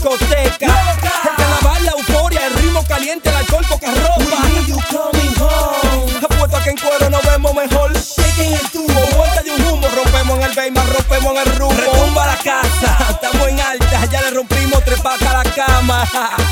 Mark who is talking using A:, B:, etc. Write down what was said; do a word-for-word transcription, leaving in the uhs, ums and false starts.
A: discoteca. El carnaval, la euforia, el ritmo caliente, el alcohol, poca ropa.
B: We need you coming home.
A: Apuesto a que en cuero nos vemos mejor.
B: Shaking el tubo.
A: Con vuelta de un humo, rompemos en el Bayman, rompemos en el rumbo. Retumba la casa, estamos en alta, ya le rompimos tres patas a la cama.